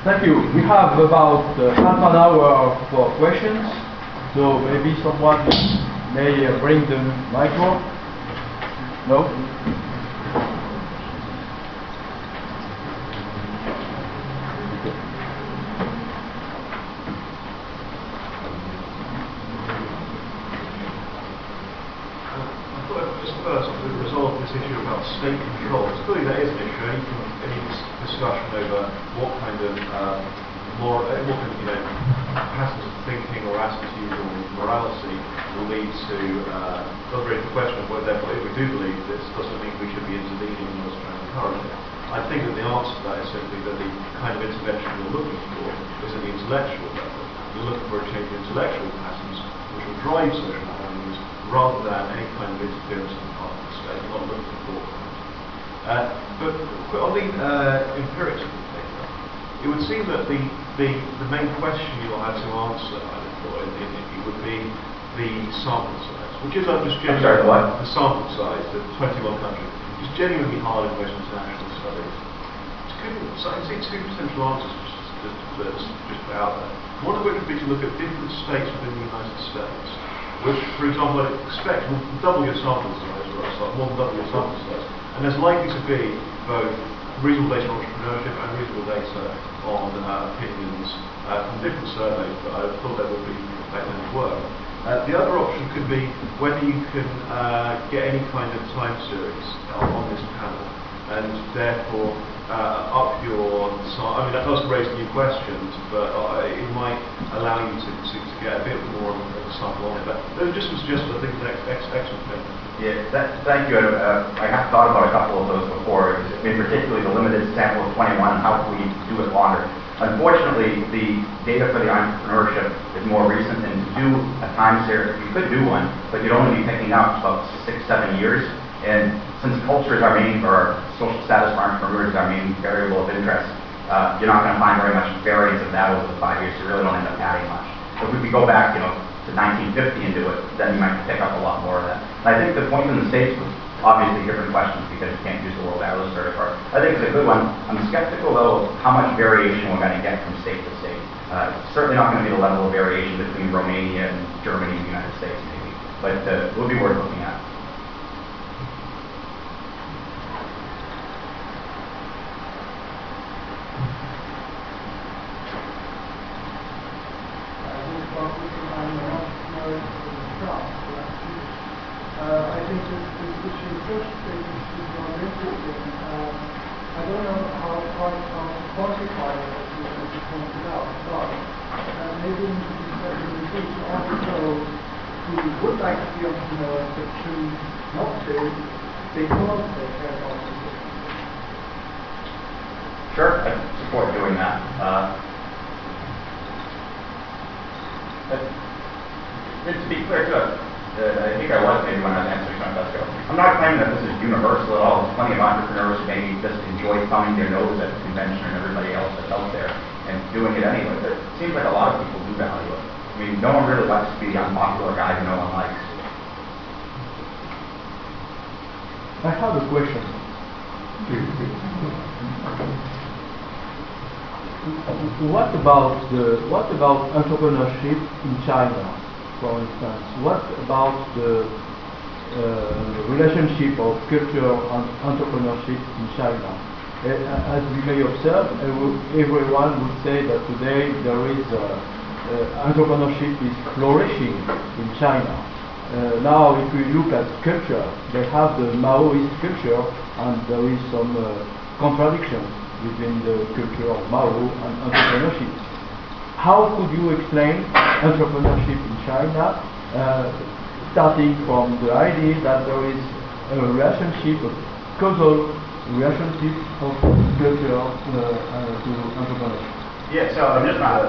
Thank you. We have about half an hour for questions, so maybe someone may bring the micro. No? Issue about state control. It's clearly that is an issue. Any discussion over what kind of patterns of thinking or attitude or morality will lead to the question of whether, therefore, if we do believe this, doesn't mean we should be intervening in order to encourage it. I think that the answer to that is simply that the kind of intervention we're looking for is at the intellectual level. We're looking for a change in intellectual patterns which will drive social values rather than any kind of interference on the part of the state. Not looking for that. But on the empirics of the paper, it would seem that the main question you'll have to answer, I thought, it would be the sample size, which is just genuinely the sample size, the 21 countries, is genuinely hard in most international studies. So I can see two potential answers just out there. One of which would be to look at different states within the United States, which, for example, I'd expect will double your sample size, or more than double your sample size, and there's likely to be both reasonable data on entrepreneurship and reasonable data on opinions from different surveys, but I thought that would be that kind of work. The other option could be whether you can get any kind of time series on this panel, and therefore up your size. I mean, that does raise new questions, but it might allow you to get a bit more of a sample on it. But those are just some suggestions. I think it's excellent thing. Yeah, thank you. I have thought about a couple of those before, particularly the limited sample of 21 and how can we do it longer. Unfortunately, the data for the entrepreneurship is more recent, and to do a time series, you could do one, but you'd only be picking up about 6-7 years. And since culture is our main, or social status for entrepreneurs is our main variable of interest, you're not going to find very much variance of that over the 5 years. You really don't end up adding much. If we could go back, to 1950 and do it, then you might pick up a lot more of that. And I think the point in the States was obviously different questions because you can't use the World Atlas Survey card. I think it's a good one. I'm skeptical, though, of how much variation we're going to get from state to state. It's certainly not going to be the level of variation between Romania and Germany and the United States, maybe. But it would be worth looking at. I think this issue first is more interesting. I don't know how quantify it as you pointed out, but maybe in the future also who would like to be entrepreneurs but choose not to because they care about it. Sure, I support doing that. To be clear, too, I think I was maybe when I was answering some of that. I'm not claiming that this is universal at all. There's plenty of entrepreneurs who maybe just enjoy thumbing their nose at the convention and everybody else that's out there and doing it anyway. But it seems like a lot of people do value it. I mean, no one really likes to be the unpopular guy who no one likes. I have a question. What about entrepreneurship in China, for instance? What about the relationship of culture and entrepreneurship in China? As we may observe, everyone would say that today there is entrepreneurship is flourishing in China. Now, if we look at culture, they have the Maoist culture, and there is some contradiction within the culture of Mao and entrepreneurship. How could you explain entrepreneurship in China, starting from the idea that there is a relationship, a causal relationship of culture to entrepreneurship? Yeah, so I'm just not.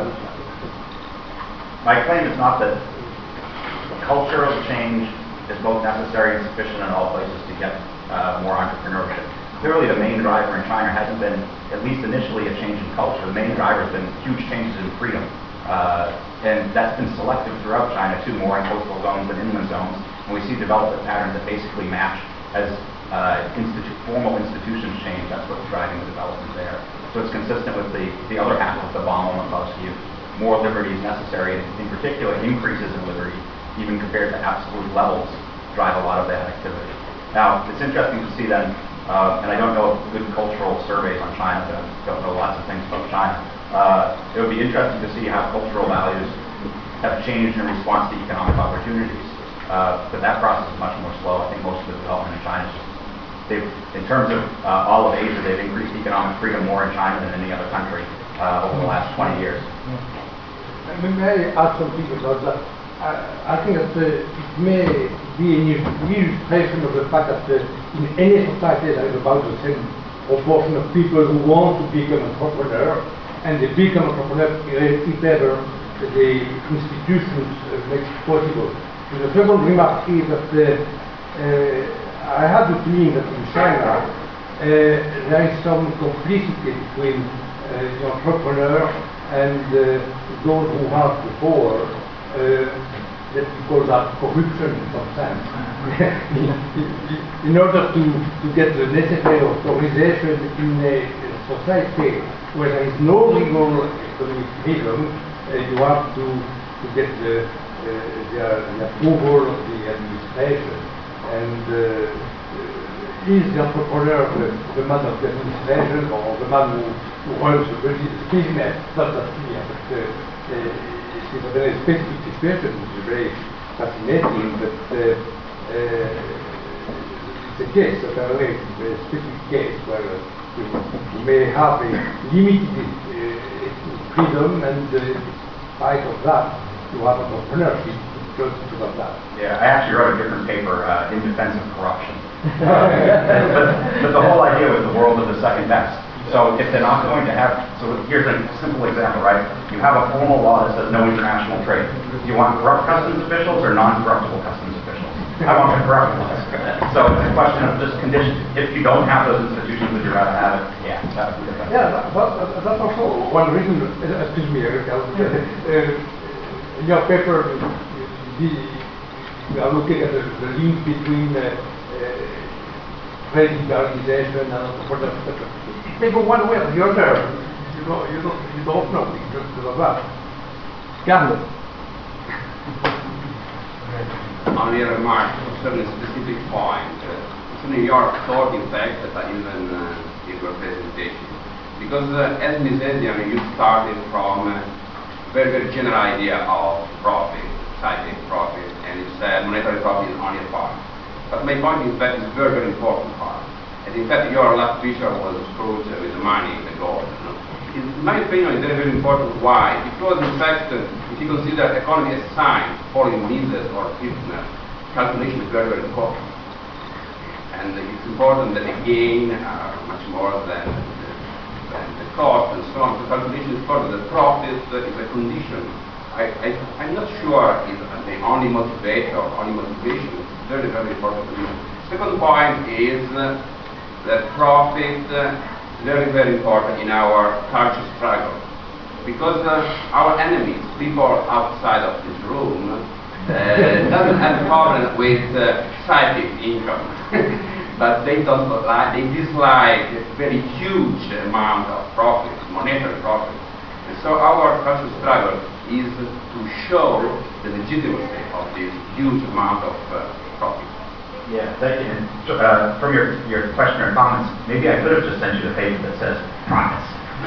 My claim is not that cultural change is both necessary and sufficient in all places to get more entrepreneurship. Clearly, the main driver in China hasn't been, at least initially, a change in culture. The main driver has been huge changes in freedom. And that's been selective throughout China, too, more in coastal zones than inland zones. And we see development patterns that basically match as formal institutions change. That's what's driving the development there. So it's consistent with the other half of the von Neumann view. More liberty is necessary, and in particular, increases in liberty, even compared to absolute levels, drive a lot of that activity. Now, it's interesting to see then, and I don't know good cultural surveys on China, but I don't know lots of things about China. It would be interesting to see how cultural values have changed in response to economic opportunities. But that process is much more slow. I think most of the development in China is just, in terms of all of Asia, they've increased economic freedom more in China than any other country over the last 20 years. May I add something about that? I think that it may be an illustration of the fact that in any society there is about the same proportion of people who want to become entrepreneur, and they become entrepreneur if ever the institutions make it possible. And the second remark is that I have the feeling that in China there is some complicity between the entrepreneur and those who have the power. Let's call that corruption in some sense. In order to get the necessary authorization in a society where there is no legal economic freedom, you have to get the approval of the administration. And is the entrepreneur the man of the administration or the man who runs the business? Not that clear, but it's a very specific situation, which is very fascinating, but it's a case, apparently, a very specific case where you may have a limited freedom, and in spite of that, you have entrepreneurship because of that. Yeah, I actually wrote a different paper in defense of corruption. but the whole idea was the world of the second best. So if they're not going to have, so here's a simple example, right? You have a formal law that says no international trade. Do you want corrupt customs officials or non-corruptible customs officials? I want the corrupt ones. So it's a question of just conditions. If you don't have those institutions, would you rather have it? Yeah, that would be the best. Yeah, that's also one reason, excuse me, in your paper, you are looking at the link between trade liberalization and entrepreneurship. It may go one way or the other. You don't know because of that. Carlo. Only a remark concerning a specific point. Concerning your thought, in fact, that even in your presentation. Because as Misesian, you started from a very, very general idea of profit, citing profit, and you said monetary profit is only a part. But my point is that it's a very, very important part. And in fact, your last picture was screwed with the money, the gold. You know? In my opinion, it's very, very important. Why? Because in fact, if you consider economy as science, following Mises or Kirchner, calculation is very, very important. And it's important that the gain are much more than the cost and so on. The calculation is important. The profit is a condition. I'm not sure it's the only motivator or only motivation. It's very, very important to me. Second point is that profit is very, very important in our culture struggle. Because our enemies, people outside of this room, doesn't have a problem with psychic income. But they dislike a very huge amount of profit, monetary profit. And so our cultural struggle is to show the legitimacy of this huge amount of profit. Yeah, thank you. And, from your question or comments, maybe I could have just sent you the paper that says profits.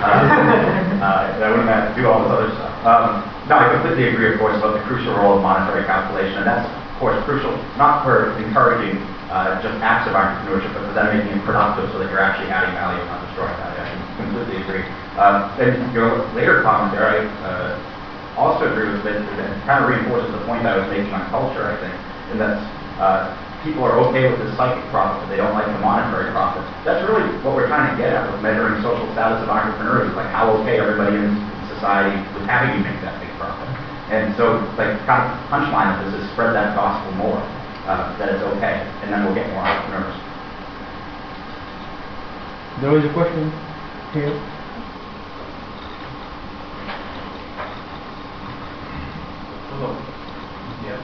I wouldn't have to do all this other stuff. No, I completely agree, of course, about the crucial role of monetary calculation, and that's, of course, crucial not for encouraging just acts of entrepreneurship, but for them making it productive so that you're actually adding value, not destroying value. I completely agree. And your later comment there, I also agree with it. It kind of reinforces the point I was making on culture, I think, in that people are okay with the psychic profit, but they don't like the monetary profit. That's really what we're trying to get at with measuring social status of entrepreneurs, like how okay everybody in society with having you make that big profit. And so, like, kind of punchline of this is spread that gospel more, that it's okay, and then we'll get more entrepreneurs. There is a question here. Hello. Yes.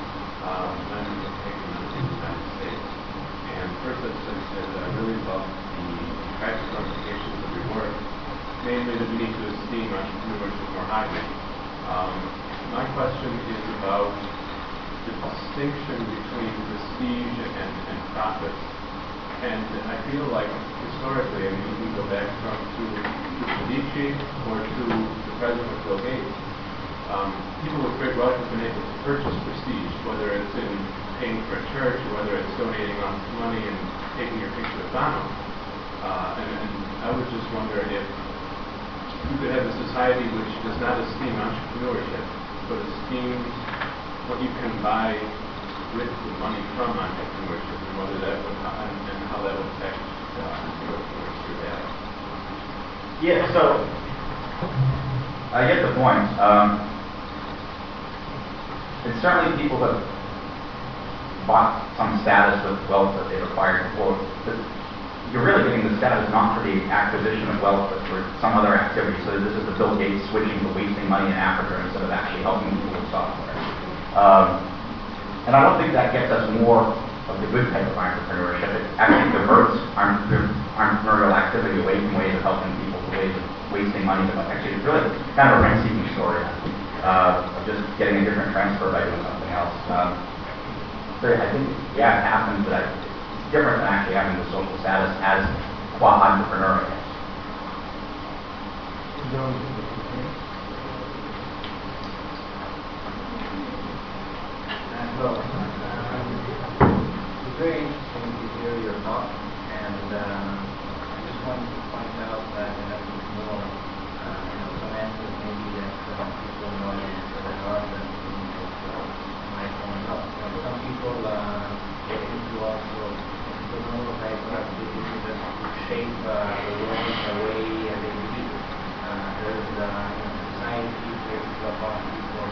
I'm taking the United States. And first I just said that I really love the practical implications of your work, namely that we need to esteem entrepreneurship more highly. My question is about the distinction between prestige and profits. And I feel like historically, I mean, you can go back to Medici or to the President Bill Gates. People with great wealth have been able to purchase prestige, whether it's in paying for a church or whether it's donating money and taking your picture with Bono. And I would just wonder if you could have a society which does not esteem entrepreneurship, but esteems what you can buy with the money from entrepreneurship, and whether that would, and how that would affect your data. Yeah, so I get the point. It's certainly people that bought some status with wealth that they've acquired before. You're really getting the status not for the acquisition of wealth, but for some other activity. So this is the Bill Gates switching to wasting money in Africa instead of actually helping people with software. And I don't think that gets us more of the good type of entrepreneurship. It actually diverts entrepreneurial activity away from ways of helping people to ways of wasting money. Actually, it's really kind of a rent-seeking story of just getting a different transfer by doing something else. So I think, yeah, it happens, but it's different than actually having the social status as qua entrepreneur, I guess. Hello. It's very interesting to hear your talk, and I just wanted to point out that in a bit more some answers maybe that people know that are that might point out. Some people get into also entrepreneurial type of activities that shape the world in a way they believe. There's society based upon people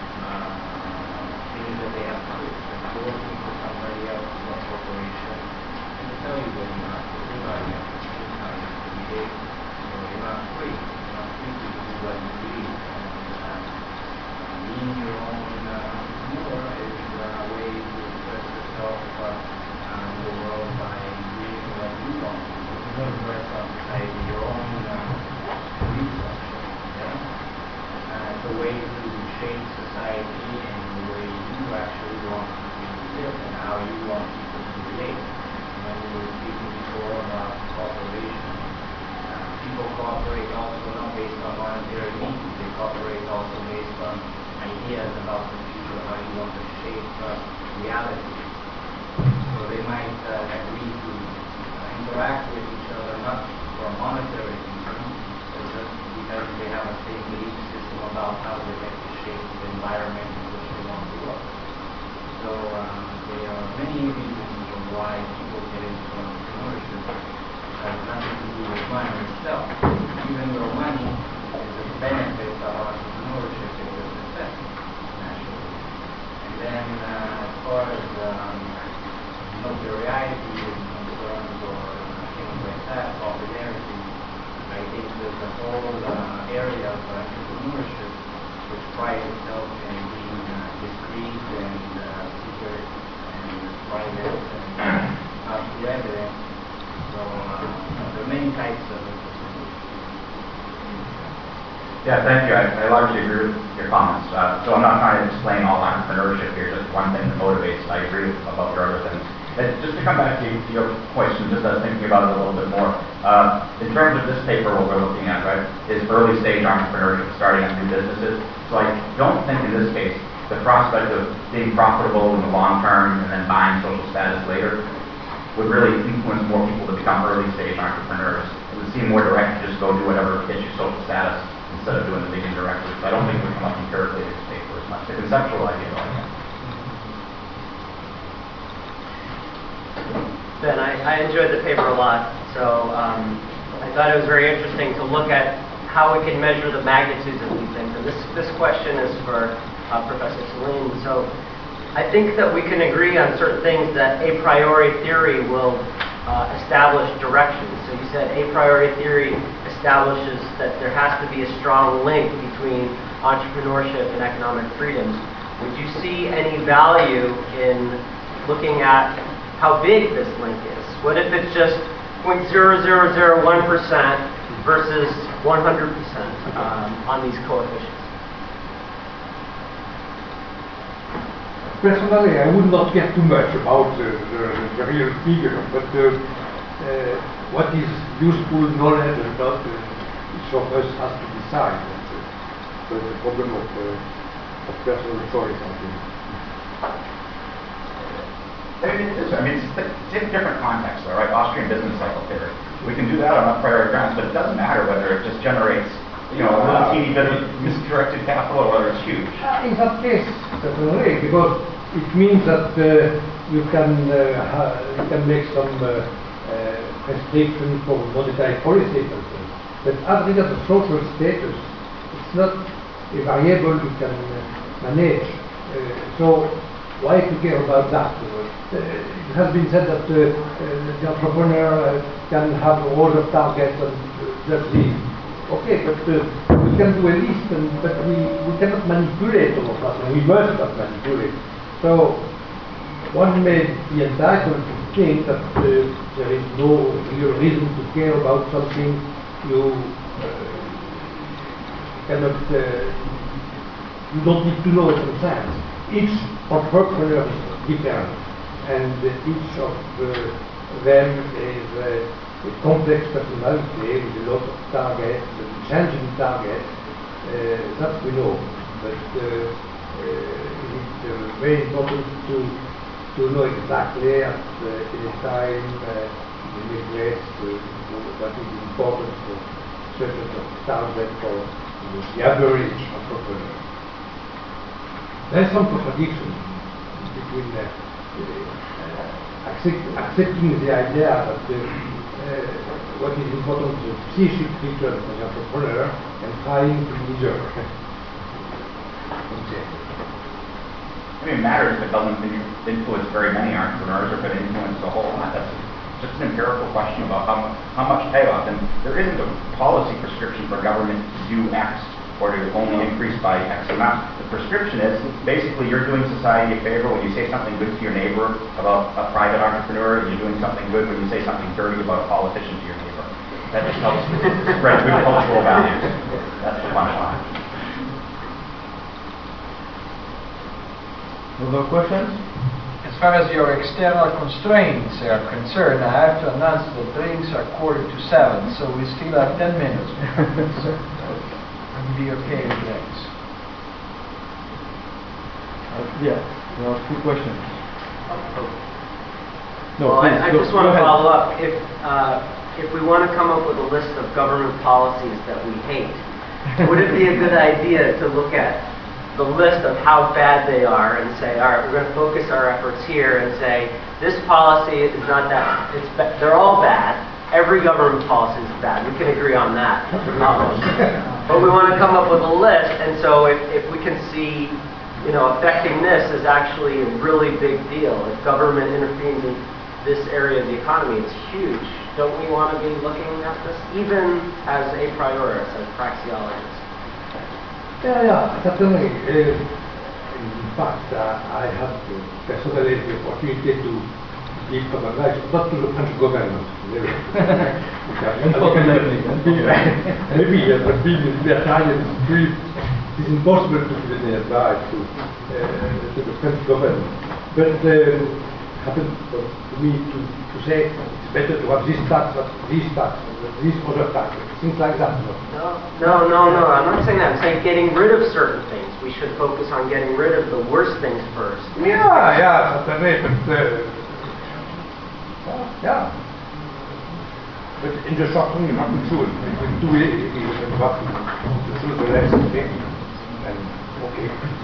that they have to do. If you're working for somebody else or a corporation, and they tell you that you're not free, every day, so you're not free. You're not free to do what you believe. And being your own entrepreneur is a way to express yourself in the world by doing what you want to do. You don't express on society your own research. It's a way to shape society and the way you actually want people to live and how you want people to relate. When we were speaking before about cooperation, people cooperate also not based on monetary needs, they cooperate also based on ideas about the future, how you want to shape reality. So they might agree to interact with each other not for monetary reasons, but just because they have a same belief system about how they like to shape the environment in which they want to work. So there are many reasons of why people get into entrepreneurship. It has nothing to do with money itself. Even though money is a benefit of entrepreneurship, it's a success, naturally. And then as far as notoriety is concerned or things like that, popularity, I think there's a whole area of entrepreneurship which prides itself in being discreet and secret and private and not too evident. So there are many types of entrepreneurship. Yeah, thank you. I largely agree with your comments. So I'm not trying to explain all entrepreneurship here, just one thing that motivates. I agree about your other things. Just to come back to your question, just thinking about it a little bit more. In terms of this paper, what we're looking at, right, is early stage entrepreneurship, starting up new businesses. So I don't think in this case the prospect of being profitable in the long term and then buying social status later would really influence more people to become early stage entrepreneurs. It would seem more direct to just go do whatever gets you social status instead of doing the big indirectly. So I don't think we come up empirically in this paper as much. The conceptual idea, though, I guess. Ben, I enjoyed the paper a lot, so I thought it was very interesting to look at how we can measure the magnitudes of these things. And this question is for Professor Salim. So I think that we can agree on certain things that a priori theory will establish directions. So you said a priori theory establishes that there has to be a strong link between entrepreneurship and economic freedoms. Would you see any value in looking at how big this link is? What if it's just 0.0001% versus 100% on these coefficients. Personally, I would not care too much about the real figure, but what is useful knowledge or not, each of us has to decide. So the problem of personal choice, I think. It's in different contexts, though, right? Austrian business cycle theory. We can do that on a priori grounds, but it doesn't matter whether it just generates, a little teeny bit of misdirected capital or whether it's huge. In that case, certainly, because it means that you can make some restriction for monetary policy, for instance. But as regards the social status, it's not a variable you can manage. So why to care about that? It has been said that the entrepreneur can have all the targets and just leave. Okay, but we can do a list, but we cannot manipulate all of that, and we must not manipulate. So one may be entitled to think that there is no real reason to care about something you cannot, you don't need to know it in science. Each entrepreneur is different, and each of them is a complex personality with a lot of targets, changing targets, that we know. But it's very important to know exactly at any time, in any place, what is important for certain target for the average entrepreneur. There is some contradiction between accepting the idea that what is important is the psychic feature for the entrepreneur and trying to measure. It matters if it doesn't influence very many entrepreneurs or if it influences a whole lot. That's just an empirical question about how much payoff. And there isn't a policy prescription for government to do X or to only increase by X amount. The prescription is basically you're doing society a favor when you say something good to your neighbor about a private entrepreneur, and you're doing something good when you say something dirty about a politician to your neighbor. That just helps spread good cultural values. That's the punchline. Other questions? As far as your external constraints are concerned, I have to announce that drinks are 6:45, so we still have 10 minutes. Be okay with that. Yeah, there are two questions. No, Well, please, I go- just want go to ahead. follow up. If we want to come up with a list of government policies that we hate, would it be a good idea to look at the list of how bad they are and say, all right, we're going to focus our efforts here and say, this policy is not that, they're all bad. Every government policy is bad. We can agree on that. But we want to come up with a list, and so if we can see, affecting this is actually a really big deal. If government intervenes in this area of the economy, it's huge. Don't we want to be looking at this, even as a priorist, as praxeologists? Yeah, certainly. In fact, I had personally the opportunity to give some advice, not to the French government. Maybe, but being in the Italian street, it's impossible to give any advice to the French government. But it happened to me to say it's better to have this tax, this other tax, things like that. No, I'm not saying that. I'm saying getting rid of certain things. We should focus on getting rid of the worst things first. Yeah, certainly, but yeah. But in the short term, you have to choose between two areas. You have to choose the less thing. And okay.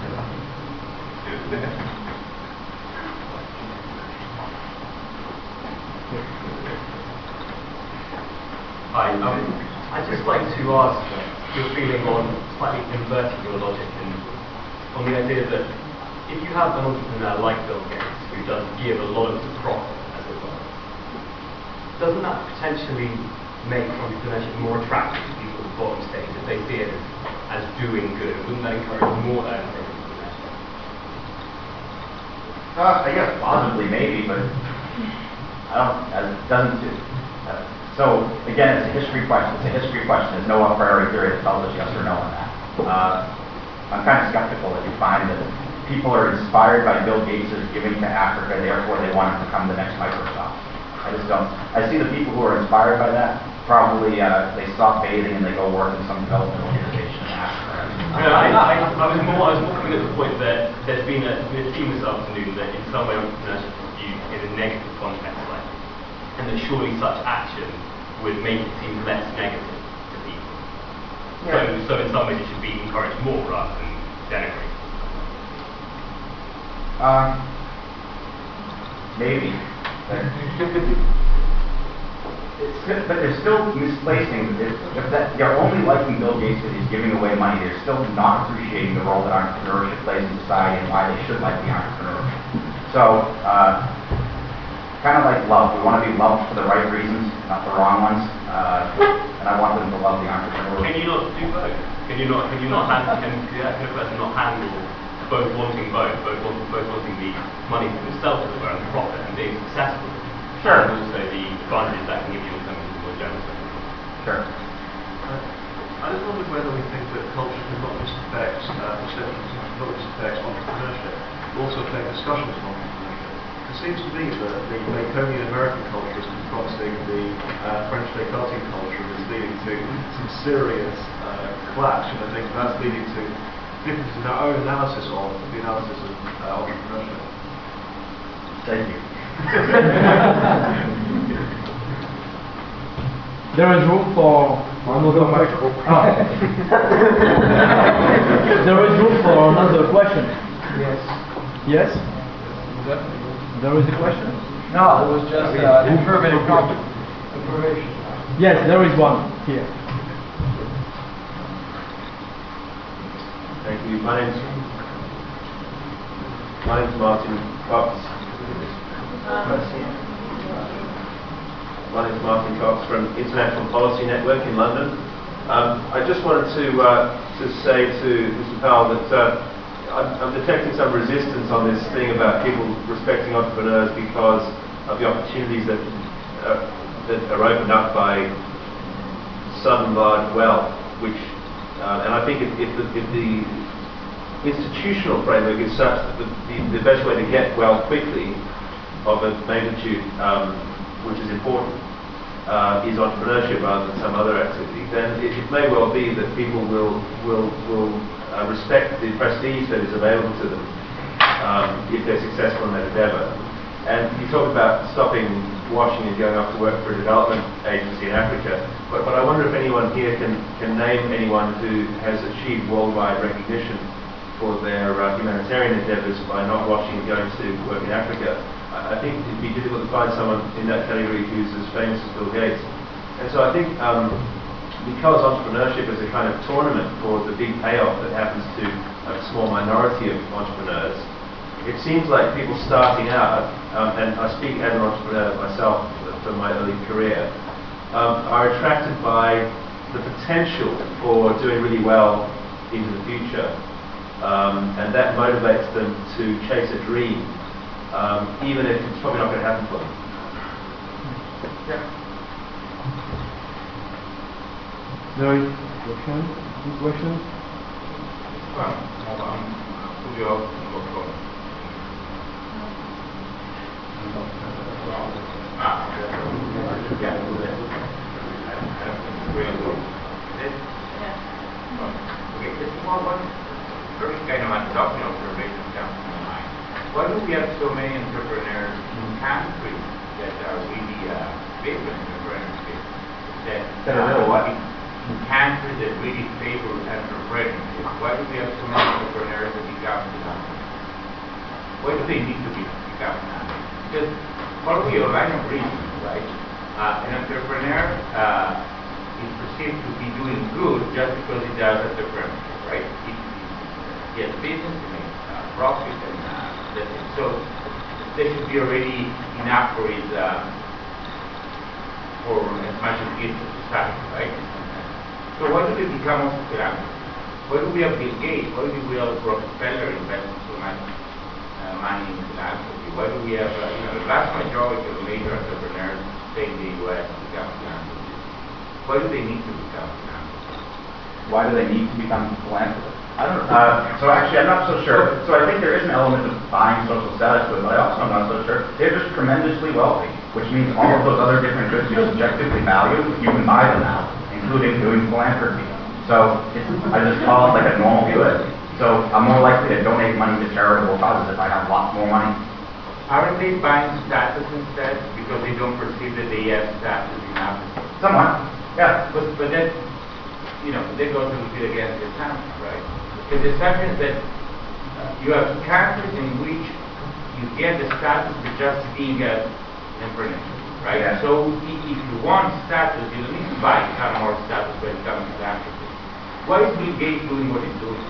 Hi, I'd just like to ask your feeling on slightly inverting your logic and on the idea that if you have an entrepreneur like Bill Gates who does give a lot of the profit, as it were, doesn't that potentially make entrepreneurship more attractive to people at the bottom stage if they see it as doing good? Wouldn't that encourage more entrepreneurship? I guess possibly, maybe, but it doesn't. So again, it's a history question. It's a history question. There's no a priori theory that tells us yes or no on that. I'm kind of skeptical that you find that people are inspired by Bill Gates' giving to Africa, therefore they want to become the next Microsoft. I just don't. I see the people who are inspired by that, probably they stop bathing and they go work in some development organization in Africa. I was more coming at the point that there's been a theme this afternoon that in some way entrepreneurship is viewed in a negative context, like, and that surely such action would make it seem less negative to people. Yeah. So in some ways it should be encouraged more rather than denigrated. Maybe. But they're still misplacing. If they're only liking Bill Gates because he's giving away money, they're still not appreciating the role that entrepreneurship plays in society and why they should like the entrepreneur. So, kind of like love. We want to be loved for the right reasons, not the wrong ones. And I want them to love the entrepreneur. Can you not do both? Can a person not handle both wanting both wanting the money for themselves as well and profit and being successful? Sure. And also the advantages that can give you in terms of more general. Sure. I just wondered whether we think that culture can not just affect perceptions, not just affect entrepreneurship, but also affect discussions on entrepreneurship. It seems to me that the Baconian American culture is confronting the French Descartes culture and is leading to some serious clash, and I think that's leading to differences in our own analysis of the analysis of entrepreneurship. Thank you. There is room for another question. There is room for another question. Yes. Yes? There is a question? No, it was just information. Yes, there is one here. Thank you. My name's Martin Cox. My name is Martin Cox from International Policy Network in London. I just wanted to say to Mr. Powell that I'm detecting some resistance on this thing about people respecting entrepreneurs because of the opportunities that are opened up by sudden large wealth, which and I think if the institutional framework is such that the best way to get wealth quickly of a magnitude which is important is entrepreneurship rather than some other activity, then it may well be that people will respect the prestige that is available to them if they're successful in that endeavour. And you talk about stopping washing and going off to work for a development agency in Africa, but I wonder if anyone here can name anyone who has achieved worldwide recognition for their humanitarian endeavours by not washing and going to work in Africa. I think it'd be difficult to find someone in that category who's as famous as Bill Gates. And so I think because entrepreneurship is a kind of tournament for the big payoff that happens to a small minority of entrepreneurs, it seems like people starting out, and I speak as an entrepreneur myself from my early career, are attracted by the potential for doing really well into the future. And that motivates them to chase a dream, even if it's probably not going to happen for them. Yeah. There is question? Any questions? One very kind of adopting observation comes to my mind. Why do we have so many entrepreneurs in countries that are really big entrepreneurship? That are what? In countries that really favor entrepreneurship. Why do we have so many entrepreneurs that become financiers? Why do they need to become financiers? Because probably a line of reason, right? An entrepreneur is perceived to be doing good just because he does entrepreneurship, right? He has business, he makes profit, and that's it. So there should be already enough for his for as much as he gives to society, right? So why do they become also philanthropists? Why do we have Bill Gates? Why do we have Rockefeller investing so much money in philanthropy? Why do we have the vast majority of major entrepreneurs say in the U.S. become philanthropists? Why do they need to become philanthropists? Why do they need to become philanthropists? I don't know. So actually, I'm not so sure. So I think there is an element of buying social status to it, but I also am not so sure. They're just tremendously wealthy, which means all of those other different goods you subjectively value, you can buy them now, including doing philanthropy. So I just call it like a normal good. So I'm more likely to donate money to charitable causes if I have lots more money. Aren't they buying status instead because they don't perceive that they have status enough? Somewhat, yeah. But then, they go to the bit against the assumption, right? Because the assumption is that you have countries in which you get the status for just being an entrepreneur, right? Yeah. So if you want status, you don't need to buy more status by becoming a philanthropist. Why is Bill Gates doing what he's doing?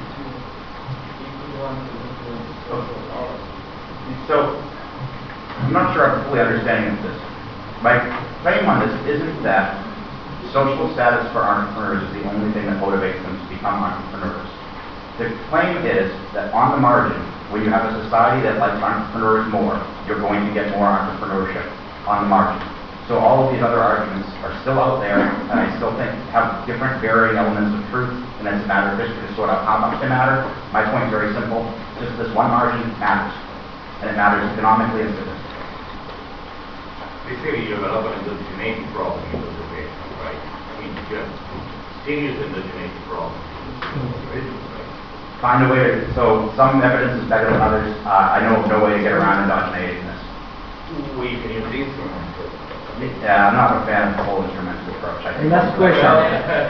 So I'm not sure I'm fully understanding this. My claim on this isn't that social status for entrepreneurs is the only thing that motivates them to become entrepreneurs. The claim is that on the margin, when you have a society that likes entrepreneurs more, you're going to get more entrepreneurship on the margin. So all of these other arguments are still out there, and I still think have different varying elements of truth, and it's a matter of history to sort out how much they matter. My point is very simple. Just this one margin matters, and it matters economically and statistically. Basically, you have a lot of indigeneity problem in those occasions, right? I mean, you have serious indigeneity problems in those occasions, right? Find a way to, so some evidence is better than others. I know of no way to get around endogeneity in this. Well, you can use the instrument. Yeah, I'm not a fan of the whole instrumental approach. I think Last question. I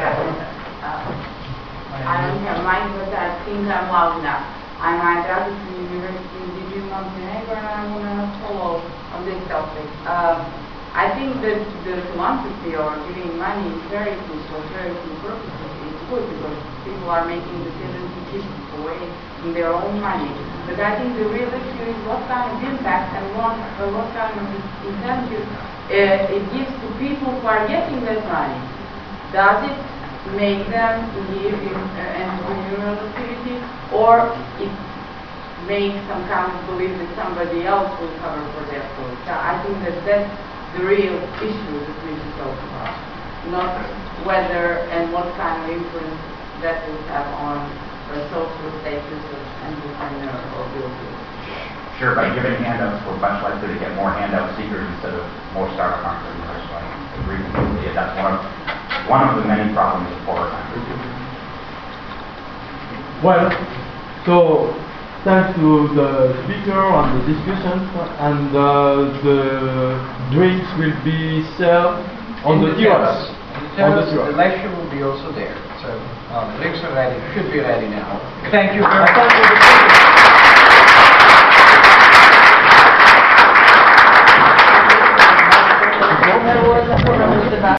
don't have mine, but I think I'm loud enough. I'm Andrea from the University of Montenegro, and I want to follow on this topic. I think that the philanthropy or giving money is very good for charity purposes. It's good because people are making decisions to keep away from their own money. But I think the real issue is what kind of impact and what kind of incentive it gives to people who are getting that money. Does it make them live in entrepreneurial activity, or it makes some kind of belief that somebody else will cover for their food? So I think that that's the real issue that we should talk about, not whether and what kind of influence that will have on the social status of entrepreneur or builder. Sure, by giving handouts, we're much likely to get more handout seekers instead of more startup entrepreneurs. So I agree completely. That's one of the many problems of poorer countries. Well, so thanks to the speaker and the discussion, and the drinks will be served on the terrace. The lecture will be also there. So the drinks are ready, should be ready now. Thank you very much.